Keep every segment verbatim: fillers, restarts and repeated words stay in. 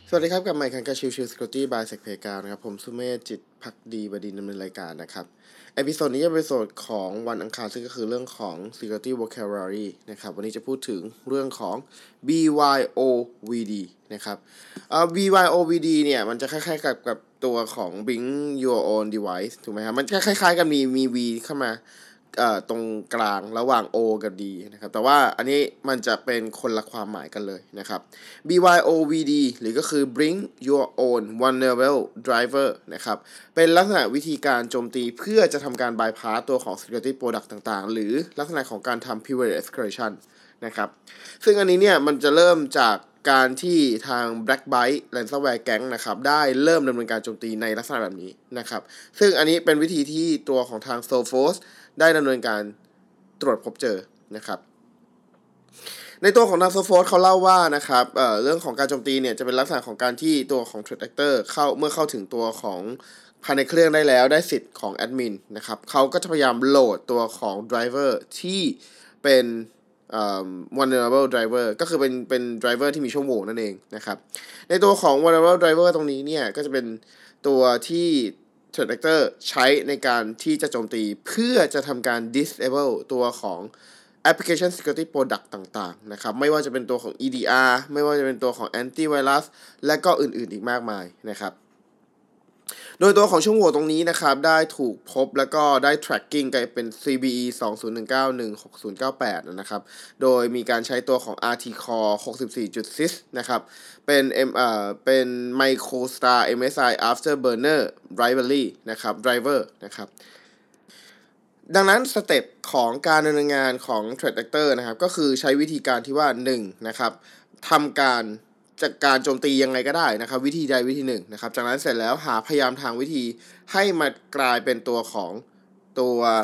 สวัสดีครับกับไมค์คันกาชิวชิว Security by เซกเพกานะครับผมสุเมธจิตภักดีบดินทร์ดำเนินรายการนะครับเอพิโซดนี้จะเป็นเอพิโซดของวันอังคารซึ่งก็คือเรื่องของ Security Vocabulary นะครับวันนี้จะพูดถึงเรื่องของ บี วาย โอ วี ดี นะครับเอ่อ บี วาย โอ วี ดี เนี่ยมันจะคล้ายๆกับกับตัวของ Bring Your Own Device ถูกไหมครับมันคล้ายๆกันมีมี V เข้ามาเอ่อตรงกลางระหว่าง O กับ D นะครับแต่ว่าอันนี้มันจะเป็นคนละความหมายกันเลยนะครับ บี วาย โอ วี ดี หรือก็คือ Bring Your Own Vulnerable Driver นะครับเป็นลักษณะวิธีการโจมตีเพื่อจะทำการ bypass ตัวของ security product ต่างๆหรือลักษณะของการทำ privilege escalation นะครับซึ่งอันนี้เนี่ยมันจะเริ่มจากการที่ทาง Black Byte Ransomware Gang นะครับได้เริ่มดำเนินการโจมตีในลักษณะแบบนี้นะครับซึ่งอันนี้เป็นวิธีที่ตัวของทาง Sophos ได้ดำเนินการตรวจพบเจอนะครับในตัวของทาง Sophos เขาเล่าว่านะครับ เอ่อ เรื่องของการโจมตีเนี่ยจะเป็นลักษณะของการที่ตัวของ Threat Actor เข้าเมื่อเข้าถึงตัวของภายในเครื่องได้แล้วได้สิทธิ์ของแอดมินนะครับเขาก็จะพยายามโหลดตัวของ driver ที่เป็นเอ่อ vulnerable driver ก็คือเป็นเป็น driver ที่มีช่องโหว่นั่นเองนะครับในตัวของ vulnerable driver ตรงนี้เนี่ยก็จะเป็นตัวที่ Threat Actor ใช้ในการที่จะโจมตีเพื่อจะทำการ disable ตัวของ application security product ต่างๆนะครับไม่ว่าจะเป็นตัวของ อี ดี อาร์ ไม่ว่าจะเป็นตัวของ antivirus และก็อื่นๆอีกมากมายนะครับโดยตัวของช่องโหว่ตรงนี้นะครับได้ถูกพบแล้วก็ได้ tracking กันเป็น ซี บี อี สอง ศูนย์ หนึ่ง เก้า หนึ่ง หก ศูนย์ เก้า แปด นะครับโดยมีการใช้ตัวของ อาร์ ที Core หกสิบสี่จุด ซิส นะครับเป็น M เอ่อเป็น MicroStar เอ็ม เอส ไอ Afterburner Library นะครับ driver นะครับดังนั้นสเต็ปของการดำเนินงานของ Threat Actor นะครับก็คือใช้วิธีการที่ว่าหนึ่งนะครับทำการจากการโจมตียังไงก็ได้นะครับวิธีใดวิธีหนึ่งนะครับจากนั้นเสร็จแล้วหาพยายามทางวิธีให้มากลายเป็นตัวของตัว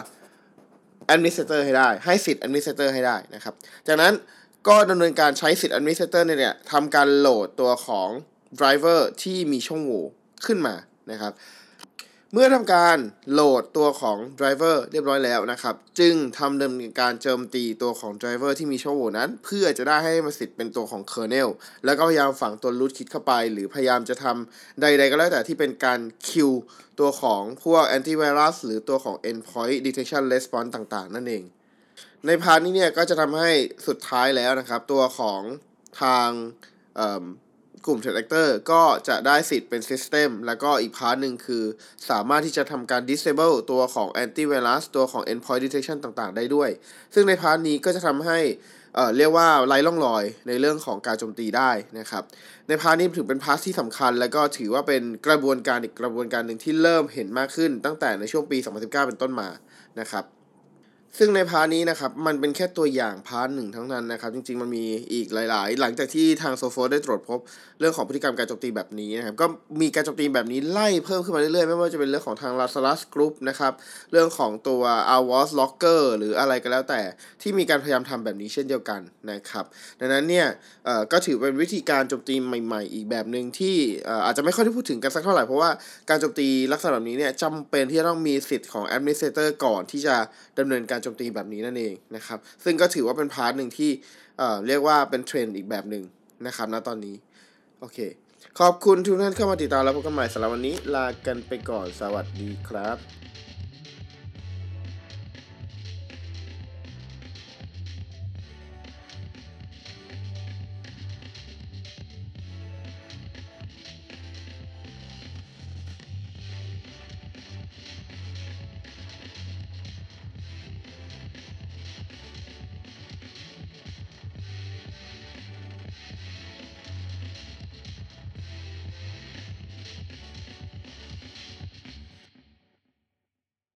Administrator ให้ได้ให้สิทธิ์ Administrator ให้ได้นะครับจากนั้นก็ดำเนินการใช้สิทธิ์ Administrator เนี่ยทำการโหลดตัวของ Driver ที่มีช่องโหว่ขึ้นมานะครับเมื่อทำการโหลดตัวของ driver เรียบร้อยแล้วนะครับจึงทำดำเนินการโจมตีตัวของ driver ที่มีช่องโหว่นั้นเพื่อจะได้ให้มันสิทธิ์เป็นตัวของ kernel แล้วก็พยายามฝังตัว root kit เข้าไปหรือพยายามจะทำใดๆก็แล้วแต่ที่เป็นการ kill ตัวของพวก antivirus หรือตัวของ endpoint detection response ต่างๆนั่นเองในพาร์ทนี้เนี่ยก็จะทำให้สุดท้ายแล้วนะครับตัวของทางกลุ่ม Threat Actor ก็จะได้สิทธิ์เป็น System แล้วก็อีกพาร์ทหนึ่งคือสามารถที่จะทำการ Disable ตัวของ Antivirus ตัวของ Endpoint Detection ต่างๆได้ด้วยซึ่งในพาร์ทนี้ก็จะทำให้เอ่อเรียกว่าไร้ร่องรอยในเรื่องของการโจมตีได้นะครับในพาร์ทนี้ถือเป็นพาร์ทที่สำคัญแล้วก็ถือว่าเป็นกระบวนการอีกกระบวนการหนึ่งที่เริ่มเห็นมากขึ้นตั้งแต่ในช่วงปีสองพันสิบเก้าเป็นต้นมานะครับซึ่งในพาร์ทนี้นะครับมันเป็นแค่ตัวอย่างพาร์ทหนึ่งทั้งนั้นนะครับจริงๆมันมีอีกหลายๆหลังจากที่ทาง Sophos ได้ตรวจพบเรื่องของพฤติกรรมการโจมตีแบบนี้นะครับก็มีการโจมตีแบบนี้ไล่เพิ่มขึ้นมาเรื่อยๆไม่ว่าจะเป็นเรื่องของทาง Lazarus Group นะครับเรื่องของตัว Avast Locker หรืออะไรก็แล้วแต่ที่มีการพยายามทำแบบนี้เช่นเดียวกันนะครับดังนั้นเนี่ยเอ่อก็ถือเป็นวิธีการโจมตีใหม่ๆอีกแบบนึงที่เอ่ออาจจะไม่ค่อยได้พูดถึงกันสักเท่าไหร่เพราะว่าการโจมตีลักษณะแบบนี้เนี่ยจำเป็นที่จะต้องมีสิทธิ์ของ Administrator ก่อนที่จะดำเนินการโจมตีแบบนี้นั่นเองนะครับซึ่งก็ถือว่าเป็นพาร์ทหนึ่งที่เอ่อเรียกว่าเป็นเทรนด์อีกแบบหนึ่งนะครับณตอนนี้โอเคขอบคุณทุกท่านเข้ามาติดตามแล้วพบกันใหม่สำหรับวันนี้ลากันไปก่อนสวัสดีครับ